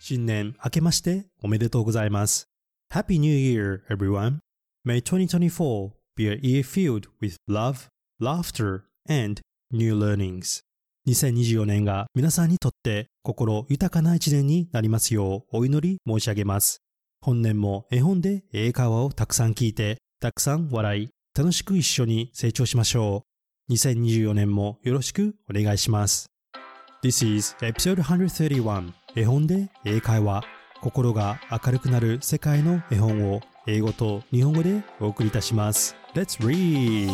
新年明けましておめでとうございます。Happy New Year, everyone. May 2024 be a year filled with love, laughter, and new learnings. 2024年が皆さんにとって心豊かな一年になりますようお祈り申し上げます。本年も絵本で英会話をたくさん聞いて、たくさん笑い、楽しく一緒に成長しましょう。2024年もよろしくお願いします。This is episode 131絵本で英会話。心が明るくなる世界の絵本を英語と日本語でお送りいたします。Let's read!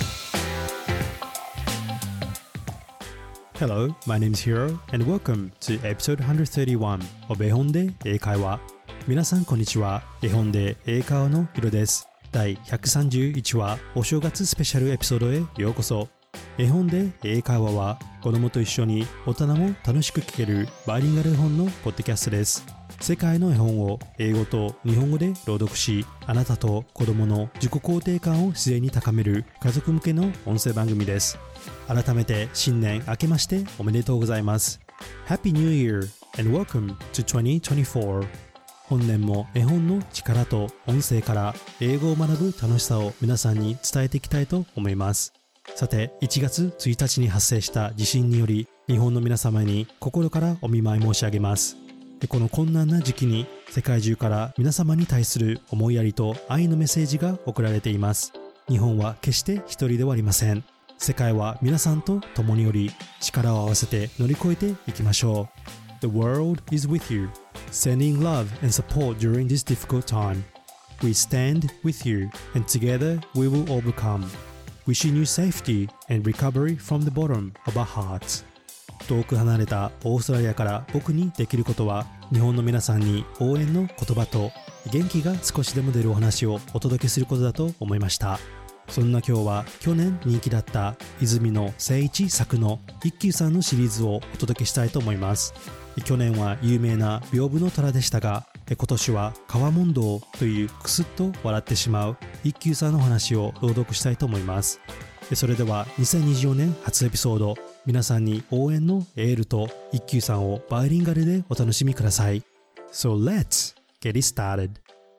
Hello, my name is Hiro and welcome to episode 131 of 絵本で英会話。皆さんこんにちは。絵本で英会話のヒロです。第131話お正月スペシャルエピソードへようこそ。絵本で英会話は子供と一緒に大人も楽しく聞けるバイリンガル絵本のポッドキャストです。世界の絵本を英語と日本語で朗読し、あなたと子供の自己肯定感を自然に高める家族向けの音声番組です。改めて新年明けましておめでとうございます。Happy New Year and welcome to 2024。本年も絵本の力と音声から英語を学ぶ楽しさを皆さんに伝えていきたいと思います。さて、1月1日に発生した地震により日本の皆様に心からお見舞い申し上げます。この困難な時期に世界中から皆様に対する思いやりと愛のメッセージが送られています。日本は決して一人ではありません。世界は皆さんと共により力を合わせて乗り越えていきましょう。The world is with you, sending love and support during this difficult time. We stand with you and together we will overcome.Wishing you safety and recovery from the bottom of our hearts. 遠く離れたオーストラリアから僕にできることは、日本の皆さんに応援の言葉と元気が少しでも出るお話をお届けすることだと思いました。そんな今日は去年人気だった泉野誠一作の一休さんのシリーズをお届けしたいと思います。去年は有名な屏風の虎でしたが、今年は川問答というクスッと笑ってしまう一休さんの話を朗読したいと思います。それでは2024年初エピソード、皆さんに応援のエールと一休さんをバイリンガルでお楽しみください。So let's get it started.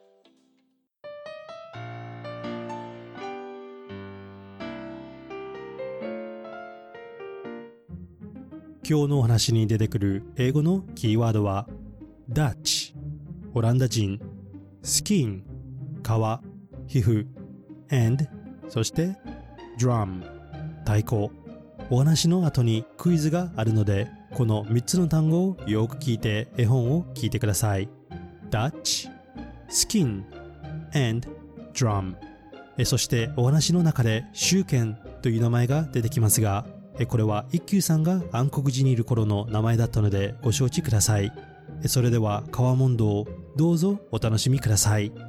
今日のお話に出てくる英語のキーワードは Dutch、オランダ人、Skin、皮、皮膚、and、そしてDrum、太鼓。お話の後にクイズがあるので、この3つの単語をよく聞いて絵本を聞いてください。Dutch、Skin、and Drum。そしてお話の中でシュウケンという名前が出てきますが、これは一休さんが暗黒時にいる頃の名前だったのでご承知ください。それでは川問答、どうぞお楽しみください。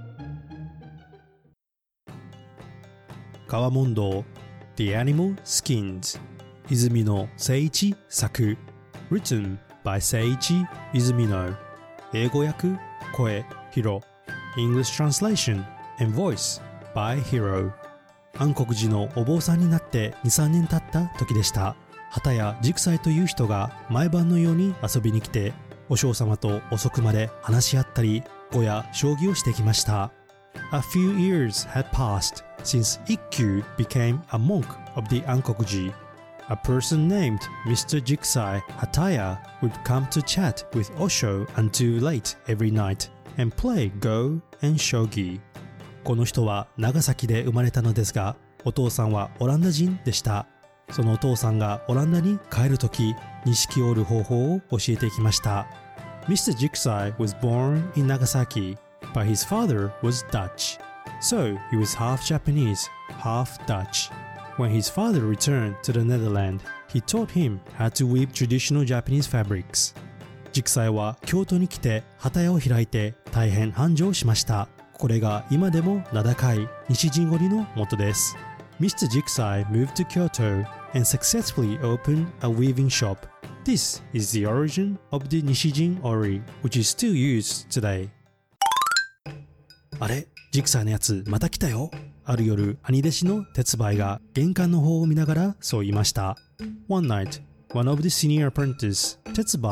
川問答 The Animal Skins 泉野誠一作 Written by 誠一泉野英語訳声ヒロ English Translation and Voice by Hiro 暗黒時のお坊さんになって2、3年経った時でした。畑谷直斎という人が毎晩のように遊びに来てお嬢様と遅くまで話し合ったり碁や将棋をしてきました。A few years had passed since Ikkyu became a monk of the Ankokuji. A person named Mr. Jikusai Hataya would come to chat with Osho until late every night and play Go and Shogi. この人は長崎で生まれたのですが、お父さんはオランダ人でした。そのお父さんがオランダに帰るとき、錦を織る方法を教えていきました。Mr. Jikusai was born in Nagasaki, but his father was Dutch. So he was half Japanese, half Dutch. When his father returned to the Netherlands, he taught him how to weave traditional Japanese fabrics. ジクサイは京都に来て畑屋を開いて大変繁盛しました。これが今でも名高い西陣織の元です。Mr. Jikusai moved to Kyoto and successfully opened a weaving shop. This is the origin of the Nishijin Ori, which is still used today. あれ、ジクサイのやつまた来たよ。ある夜、兄弟子の鉄梅が玄関の方を見ながらそう言いました。One night, one of the senior apprentices, Tetsubai,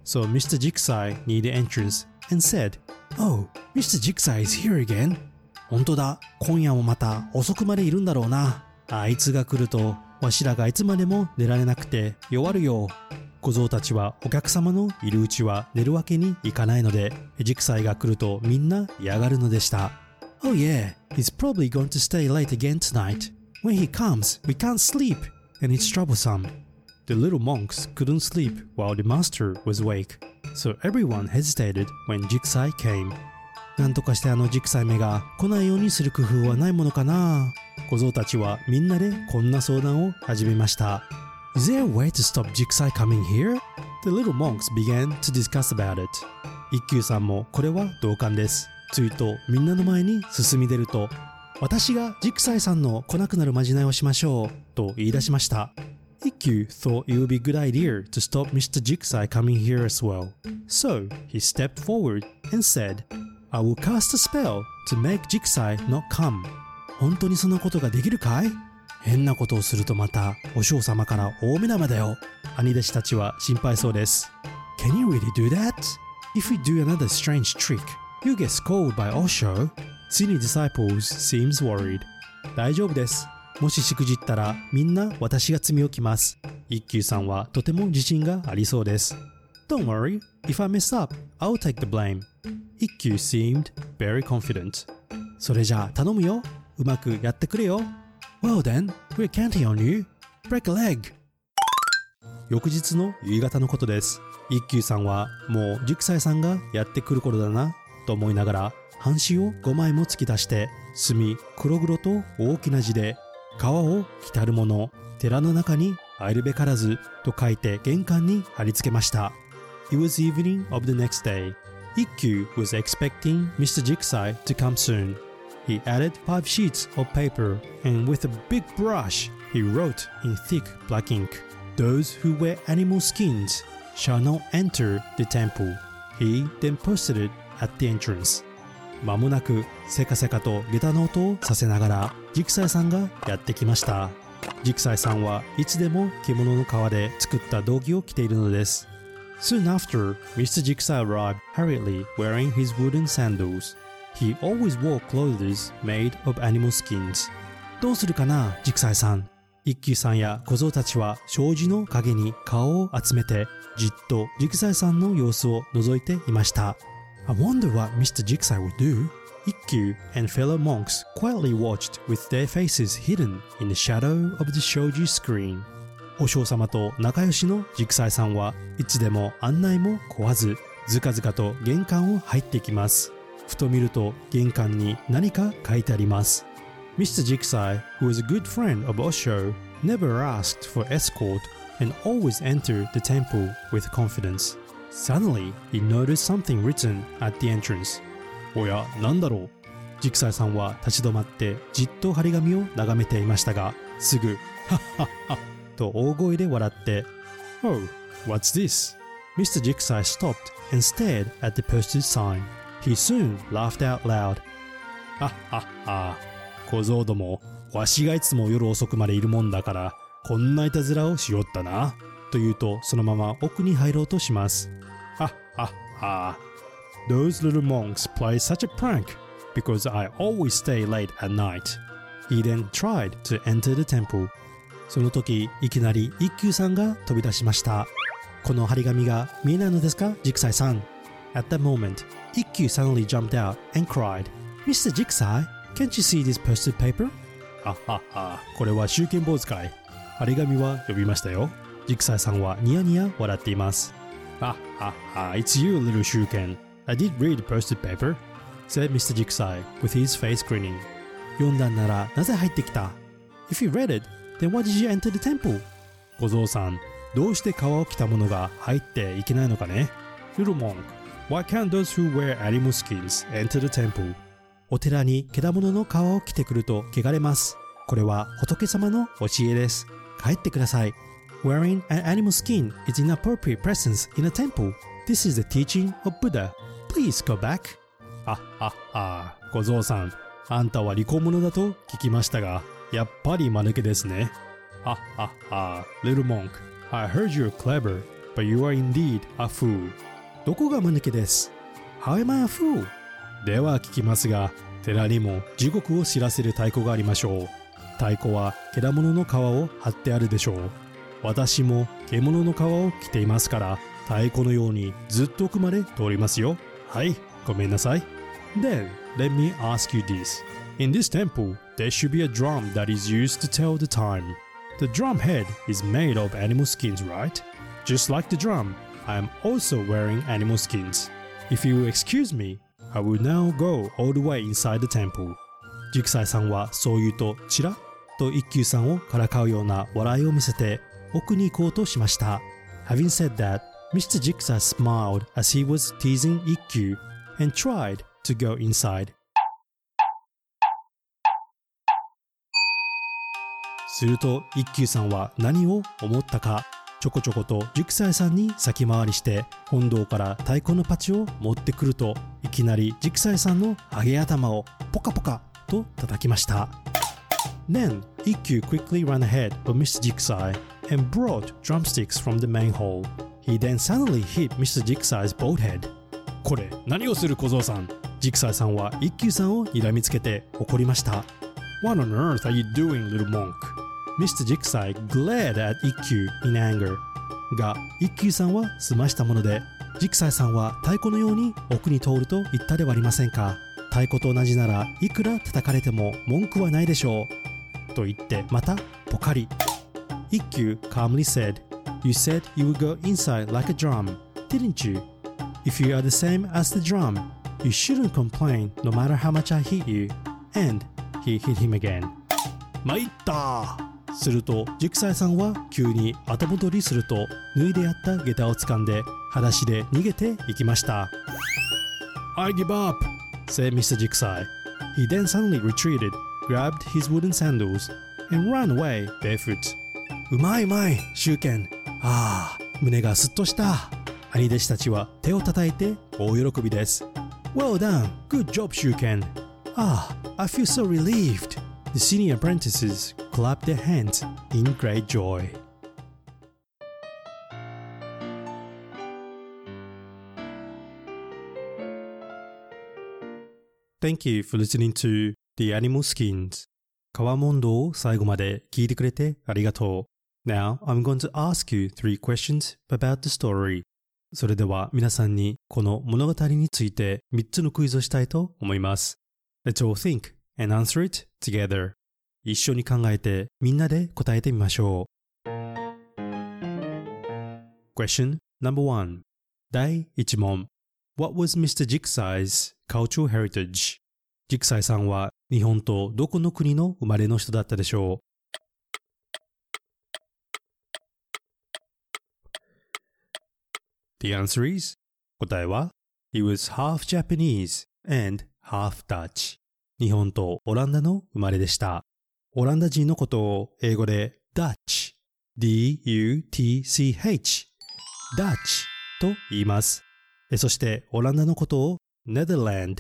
So Mr. Jigsaw near the entrance and said, Oh, Mr. Jigsaw is here again. 本当だ、今夜もまた遅くまでいるんだろうな。あいつが来ると、わしらがいつまでも寝られなくて弱るよ。小僧たちはお客様のいるうちは寝るわけにいかないので、ジクサイが来るとみんな嫌がるのでした。Oh yeah, he's probably going to stay late again tonight. When he comes, we can't sleep, and it's troublesome. The little monks couldn't sleep while the master was awake, so everyone hesitated when Jikusai came. なんとかしてジクサイめが来ないようにする工夫はないものかな。小僧たちはみんなでこんな相談を始めました。Is there a way to stop Jikusai coming here? The little monks began to discuss about it. 一休さんもこれは同感です。ついとみんなの前に進み出ると、私がジクサイさんの来なくなるまじないをしましょうと言い出しました。一休 thought it would be a good idea to stop Mr. Jikusai coming here as well. So he stepped forward and said,I will cast a spell to make Jikusai not come. 本当にそんなことができるかい？変なことをするとまたお嬢様から大目玉だよ。兄弟子たちは心配そうです。Can you really do that? If we do another strange trick, you'll get scolded by Osho. Senior disciples seems worried. 大丈夫です。もししくじったらみんな私が罪をきます。一休さんはとても自信がありそうです。Don't worry. If I mess up, I'll take the blame.一休 seemed very confident. それじゃあ頼むよ。うまくやってくれよ。Well then, we're counting on you. Break a leg. 翌日の夕方のことです。一休さんはもうジクサイさんがやってくる頃だなと思いながら半紙を5枚も突き出して墨黒々と大きな字で川を来たる者寺の中に入るべからずと書いて玄関に貼り付けました。It was evening of the next day.Ikkyu was expecting Mr. Jikusai to come soon. He added 5 sheets of paper and with a big brush he wrote in thick black ink, Those who wear animal skins shall not enter the temple. He then posted it at the entrance. 間もなくせかせかと下駄の音をさせながらジクサイさんがやってきました。ジクサイさんはいつでも獣の皮で作った道着を着ているのです。Soon after, Mr. Jikusai arrived hurriedly wearing his wooden sandals. He always wore clothes made of animal skins. どうするかな、ジクサイさん。一休さんや小僧たちは障子の陰に顔を集めてじっとジクサイさんの様子を覗いていました。I wonder what Mr. Jikusai would do. Ikkyu and fellow monks quietly watched with their faces hidden in the shadow of the shoji screen.お嬢様と仲良しのジクサイさんはいつでも案内も来わずずかずかと玄関を入ってきます。ふと見ると玄関に何か書いてあります。Mr. Jikusai, who was a good friend of Osho, never asked for escort and always entered the temple with confidence. Suddenly, he noticed something written at the entrance. おや、なんだろう。ジクサイさんは立ち止まってじっと張り紙を眺めていましたが、すぐはっはっはと大声で笑って Oh, what's this? Mr. Jikusai stopped and stared at the posted sign. He soon laughed out loud. はっはっは、小僧ども、わしがいつも夜遅くまでいるもんだからこんないたずらをしよったなと言うとそのまま奥に入ろうとします。はっはっは、Those little monks play such a prank because I always stay late at night. He then tried to enter the temple.その時いきなり一休さんが飛び出しました。この張り紙が見えないのですか、ジクサイさん。At that moment, Ikkyu suddenly jumped out and cried, Mr. Jikusai, can't you see this posted paper? ははは、これは集権坊主かい。張り紙は読みましたよ。ジクサイさんはニヤニヤ笑っています。ははは、It's you, little 集権。I did read the posted paper, said Mr. Jikusai with his face grinning. 読んだんならなぜ入ってきた？ If you read it,Then why did you enter the temple? 小僧さん、どうして皮を着た者が入っていけないのかね？ Little monk, why can't those who wear animal skins enter the temple? お寺に獣の皮を着てくると汚れます。これは仏様の教えです。帰ってください。Wearing an animal skin is inappropriate presence in a temple. This is the teaching of Buddha. Please go back. はっはっは、小僧さん、あんたは利口者だと聞きましたが、やっぱり間抜けですね。はっはっは、Little monk, I heard you're clever, but you are indeed a fool. どこが間抜けです？ How am I a fool? では聞きますが、寺にも地獄を知らせる太鼓がありましょう。太鼓は獣の皮を貼ってあるでしょう。私も獣の皮を着ていますから、太鼓のようにずっと奥まで通りますよ。はい、ごめんなさい。Then, let me ask you this. In this temple, there should be a drum that is used to tell the time. The drum head is made of animal skins, right? Just like the drum, I am also wearing animal skins. If you will excuse me, I will now go all the way inside the temple. ジクサイさんはそう言うとチラッと一休さんをからかうような笑いを見せて奥に行こうとしました。Having said that, Mr. Jiksai smiled as he was teasing Ikkyu and tried to go inside. すると一休さんは何を思ったか、ちょこちょことジクサイさんに先回りして本堂から太鼓のパチを持ってくると、いきなりジクサイさんのハゲ頭をポカポカと叩きました。Then, Ikkyu quickly ran ahead of Mr. Jiksai and brought drumsticks from the main hall. He then suddenly hit Mr. Jiksai's bald head. これ何をする小僧さん？ジクサイさんは一休さんを睨みつけて怒りました。What on earth are you doing, little monk? Mr. Jiksai glared at Ikkyu in anger. が、一休さんは済ましたもので、ジクサイさんは太鼓のように奥に通ると言ったではありませんか。太鼓と同じならいくら叩かれても文句はないでしょう。と言ってまたポカリ。Ikkyu calmly said, You said you would go inside like a drum, didn't you? If you are the same as the drum, you shouldn't complain no matter how much I hit you. And he hit him again. 参ったするとジクサイさんは急に後戻りすると、脱いであった下駄を掴んで裸足で逃げていきました。I give up, said Mr. Jiksai. He then suddenly retreated, grabbed his wooden sandals, and ran away barefoot. うまいうまい、シュウケン。ああ、胸がすっとした。兄弟子たちは手を叩いて大喜びです。Well done, good job, シュウケン。Ah, I feel so relieved. The senior apprentices clapped their hands in great joy. Thank you for listening to The Animal Skins. 川問答を最後まで聞いてくれてありがとう。Now, I'm going to ask you 3 questions about the story. それでは皆さんにこの物語について3つのクイズをしたいと思います。Let's all think and answer it together. 一緒に考えてみんなで答えてみましょう。Question number 1. 第1問。What was Mr. Jiksai's cultural heritage? ジクサイさんは日本とどこの国の生まれの人だったでしょう？ The answer is 答えは He was half Japanese and half Dutch. 日本とオランダの生まれでした。オランダ人のことを英語で Dutch, D-U-T-C-H, Dutch と言います。そしてオランダのことを Netherland,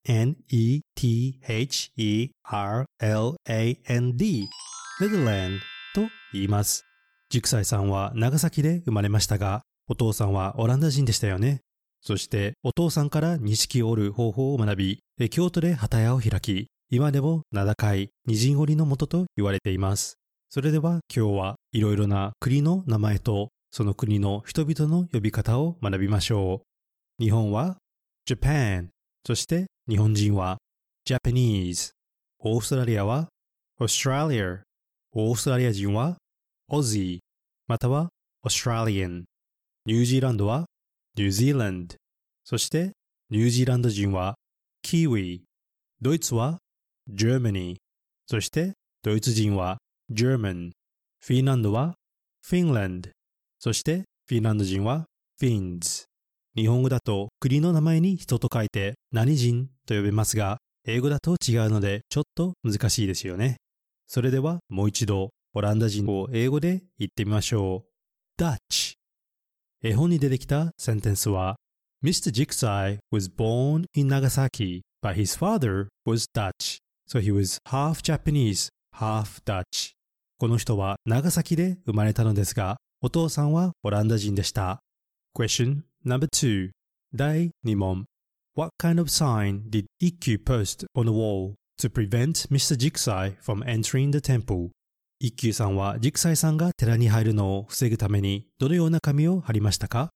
N-E-T-H-E-R-L-A-N-D, Netherland と言います。ジクサイさんは長崎で生まれましたが、お父さんはオランダ人でしたよね。そしてお父さんから錦を織る方法を学び、京都で機屋を開き、今でも名高い二人織りの元と言われています。それでは今日はいろいろな国の名前とその国の人々の呼び方を学びましょう。日本は Japan、そして日本人は Japanese。オーストラリアは Australia。オーストラリア人は Aussie、または Australian。ニュージーランドは New Zealand。そしてニュージーランド人は Kiwi。ドイツはGermany。そしてドイツ人は German。フィンランドは Finland。そしてフィンランド人は Finns。日本語だと国の名前に人と書いて何人と呼べますが、英語だと違うのでちょっと難しいですよね。それではもう一度オランダ人を英語で言ってみましょう。Dutch。絵本に出てきたセンテンスは Mr. Jiksai was born in Nagasaki, but his father was Dutch. So he was half Japanese, half Dutch. この人は長崎で生まれたのですが、 お父さんはオランダ人でした。Question number 2. 第2問。What kind of sign did Ikkyu post on the wall to prevent Mr. Jikusai from entering the temple? 一休さんはジクサイさんが寺に入るのを防ぐためにどのような紙を貼りましたか？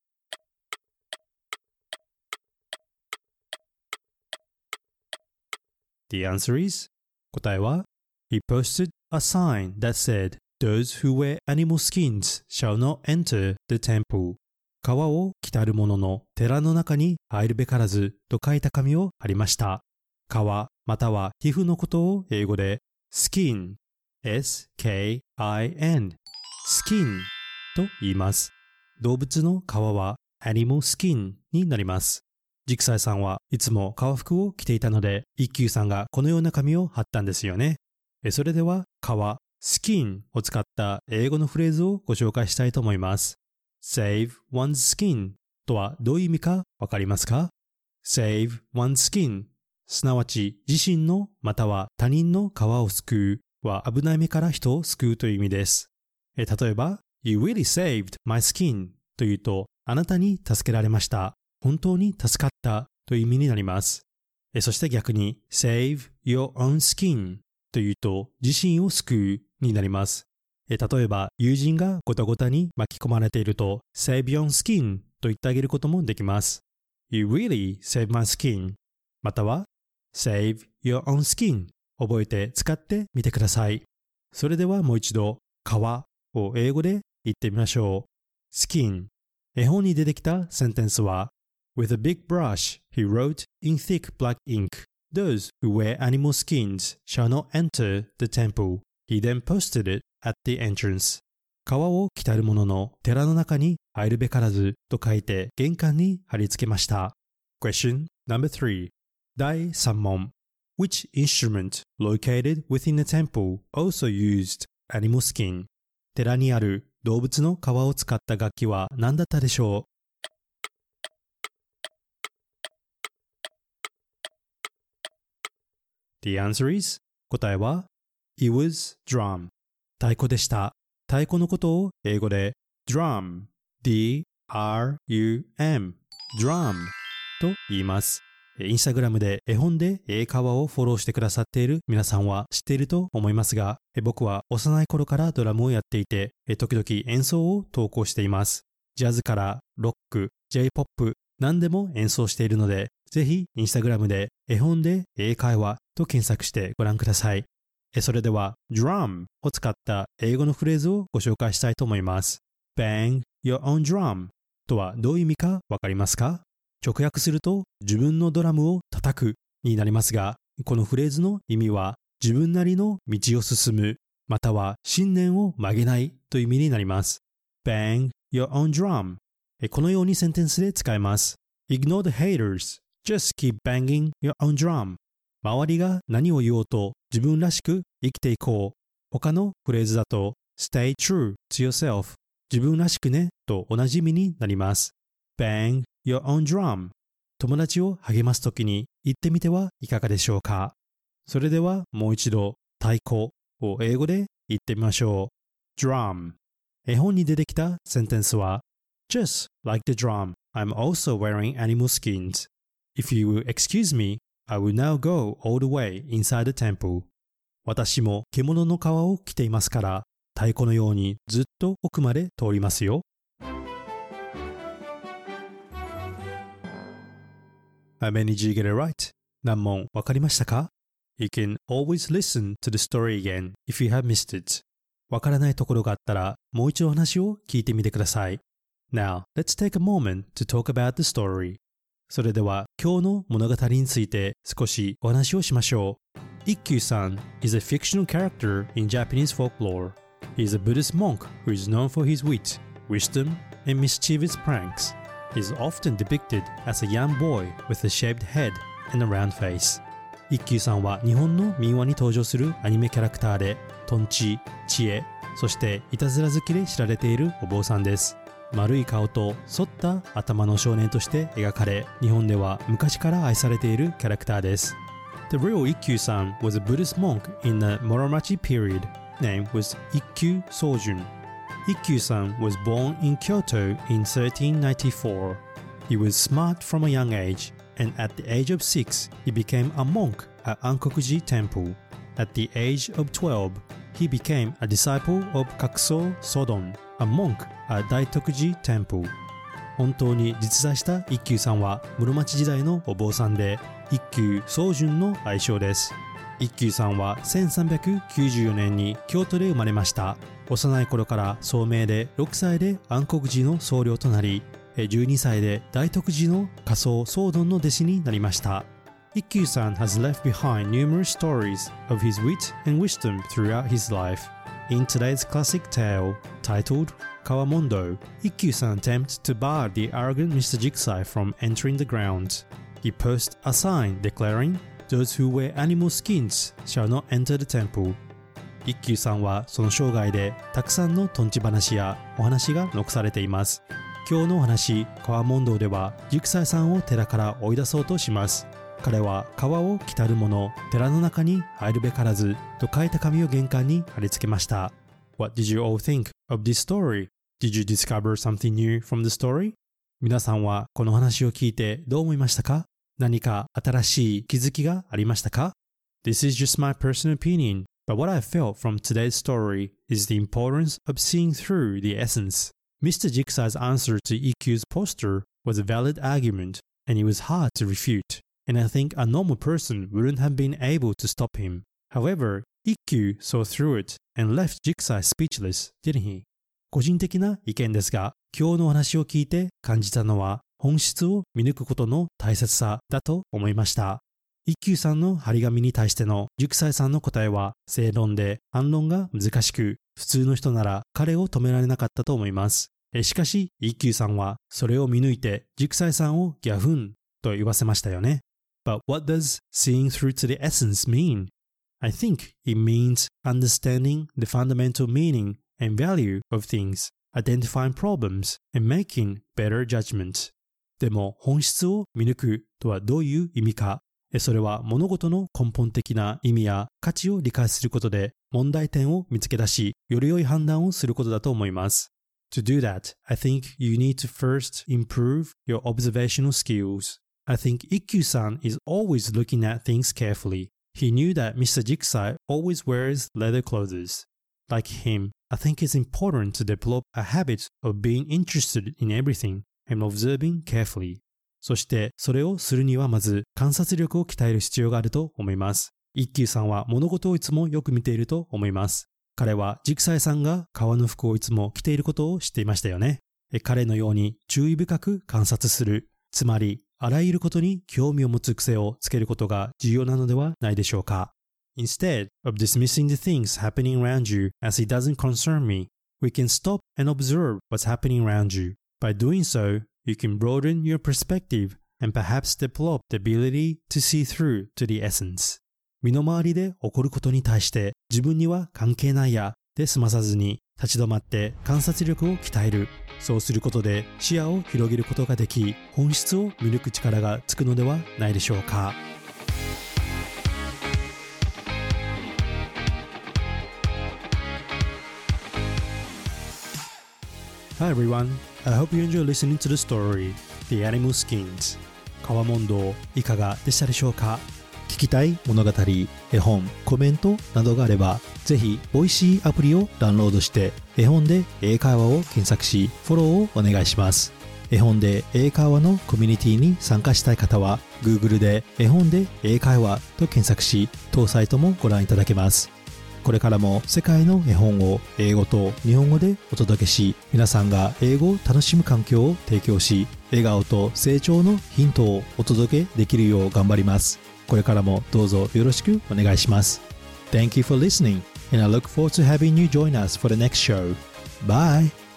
The answer is 答えは He posted a sign that said Those who wear animal skins shall not enter the temple. 皮を着たる者の寺の中に入るべからずと書いた紙を貼りました。皮または皮膚のことを英語で skin S-K-I-N skin と言います。動物の皮は animal skin になります。ジクサイさんはいつも革服を着ていたので、一休さんがこのような紙を貼ったんですよね。それでは皮 skin を使った英語のフレーズをご紹介したいと思います。Save one's skin とはどういう意味かわかりますか？ Save one's skin すなわち自身のまたは他人の皮を救うは危ない目から人を救うという意味です。例えば You really saved my skin というとあなたに助けられました。本当に助かったという意味になります。そして逆に Save your own skin というと自身を救うになります。例えば友人がごたごたに巻き込まれていると Save your own skin と言ってあげることもできます。You really saved my skin または Save your own skin 覚えて使ってみてください。それではもう一度皮を英語で言ってみましょう。Skin 絵本に出てきたセンテンスは With a big brush, he wrote in thick black ink, Those who wear animal skins shall not enter the temple. He then posted it at the entrance. 皮を着たる者の寺の中に入るべからずと書いて玄関に貼り付けました。Question number 3. 第3問。Which instrument located within the temple also used animal skin? 寺にある動物の皮を使った楽器は何だったでしょう？The answer is 答えは It was drum 太鼓でした。太鼓のことを英語で drum D-R-U-M drum と言います。インスタグラムで絵本で英会話をフォローしてくださっている皆さんは知っていると思いますが、僕は幼い頃からドラムをやっていて、時々演奏を投稿しています。ジャズからロック、J-POP 何でも演奏しているので、ぜひインスタグラムで絵本で英会話と検索してご覧ください。それでは drum を使った英語のフレーズをご紹介したいと思います。Bang your own drum とはどういう意味かわかりますか？直訳すると自分のドラムを叩くになりますが、このフレーズの意味は自分なりの道を進む、または信念を曲げないという意味になります。Bang your own drum このようにセンテンスで使えます。Ignore the haters, just keep banging your own drum 周りが何を言おうと自分らしく生きていこう。他のフレーズだと Stay true to yourself 自分らしくねと同じ意味になります。Bang your own drum 友達を励ますときに言ってみてはいかがでしょうか。それではもう一度太鼓を英語で言ってみましょう。Drum 絵本に出てきたセンテンスは Just like the drum, I'm also wearing animal skins. If you will excuse me, I will now go all the way inside the temple. 私も獣の皮を着ていますから、太鼓のようにずっと奥まで通りますよ。How many did you get it right? 何問わかりましたか？ You can always listen to the story again if you have missed it. わからないところがあったら、もう一度話を聞いてみてください。Now, let's take a moment to talk about the story. それでは今日の物語について少しお話をしましょう。一休さん is a fictional character in Japanese folklore. He is a Buddhist monk who is known for his wit, wisdom, and mischievous pranks. He is often depicted as a young boy with a shaved head and a round face. 一休さんは日本の民話に登場するアニメキャラクターで、とんち、知恵、そしていたずら好きで知られているお坊さんです。丸い顔と反った頭の少年として描かれ、日本では昔から愛されているキャラクターです。The real Ikkyu-san was a Buddhist monk in the Muromachi period. Name was Ikkyu Sojun. Ikkyu-san was born in Kyoto in 1394. He was smart from a young age, and at the age of 6, he became a monk at Ankokuji Temple. At the age of 12, he became a disciple of Kakuso Sodon, a monk at Daitokuji Temple. 本当に実在した一休さんは室町時代のお坊さんで、一休宗純の愛称です。一休さんは1394年に京都で生まれました。幼い頃から聡明で6歳で安国寺の僧侶となり、12歳で大徳寺の仮想僧丼の弟子になりました。一休さん has left behind numerous stories of his wit and wisdom throughout his life. In today's classic tale, titled Kawamondo, Ikkyu-san attempts to bar the arrogant Mr. Jigsaw from entering the grounds. He posts a sign declaring, "Those who wear animal skins shall not enter the temple." 一休さんはその生涯でたくさんのとんち話やお話が残されています。今日のお話、川問答ではジグサイさんを寺から追い出そうとします。彼は川を来たる者、寺の中に入るべからずと書いた紙を玄関に貼り付けました。What did you all think of this story? Did you discover something new from the story? 皆さんはこの話を聞いてどう思いましたか？何か新しい気づきがありましたか？ This is just my personal opinion, but what I felt from today's story is the importance of seeing through the essence. Mr. Jigsaw's answer to Ikkyu's poster was a valid argument, and it was hard to refute, and I think a normal person wouldn't have been able to stop him. However, Ikkyu saw through it and left Jigsaw speechless, didn't he? 個人的な意見ですが、今日のお話を聞いて感じたのは本質を見抜くことの大切さだと思いました。一休さんの張り紙に対してのジグサイさんの答えは正論で反論が難しく、普通の人なら彼を止められなかったと思います。しかし一休さんはそれを見抜いてジグサイさんをギャフンと言わせましたよね。But what does seeing through to the essence mean? I think it means understanding the fundamental meaning and value of things, identifying problems, and making better judgments. でも本質を見抜くとはどういう意味か。それは物事の根本的な意味や価値を理解することで問題点を見つけ出し、より良い判断をすることだと思います。To do that, I think you need to first improve your observational skills. I think Ikkyu-san is always looking at things carefully. He knew that Mr. Jigsaw always wears leather clothes. Like him, I think it's important to develop a habit of being interested in everything and observing carefully. そしてそれをするにはまず観察力を鍛える必要があると思います。一休さんは物事をいつもよく見ていると思います。彼はジグサイさんが革の服をいつも着ていることを知っていましたよね。彼のように注意深く観察する。つまりあらゆることに興味を持つ癖をつけることが重要なのではないでしょうか。Instead of dismissing the things happening around you as it doesn't concern me, we can stop and observe what's happening around you. By doing so, you can broaden your perspective and perhaps develop the ability to see through to the essence. 身の回りで起こることに対して自分には関係ないやで済まさずに立ち止まって観察力を鍛える。そうすることで視野を広げることができ、本質を見抜く力がつくのではないでしょうか。Hi everyone, I hope you enjoy listening to the story, The Animal Skins. 川問答いかがでしたでしょうか。聞きたい物語、絵本、コメントなどがあれば、ぜひボイシーアプリをダウンロードして絵本で英会話を検索し、フォローをお願いします。絵本で英会話のコミュニティに参加したい方は Google で絵本で英会話と検索し、当サイトもご覧いただけます。これからも世界の絵本を英語と日本語でお届けし、皆さんが英語を楽しむ環境を提供し、笑顔と成長のヒントをお届けできるよう頑張ります。これからもどうぞよろしくお願いします。Thank you for listening, and I look forward to having you join us for the next show. Bye!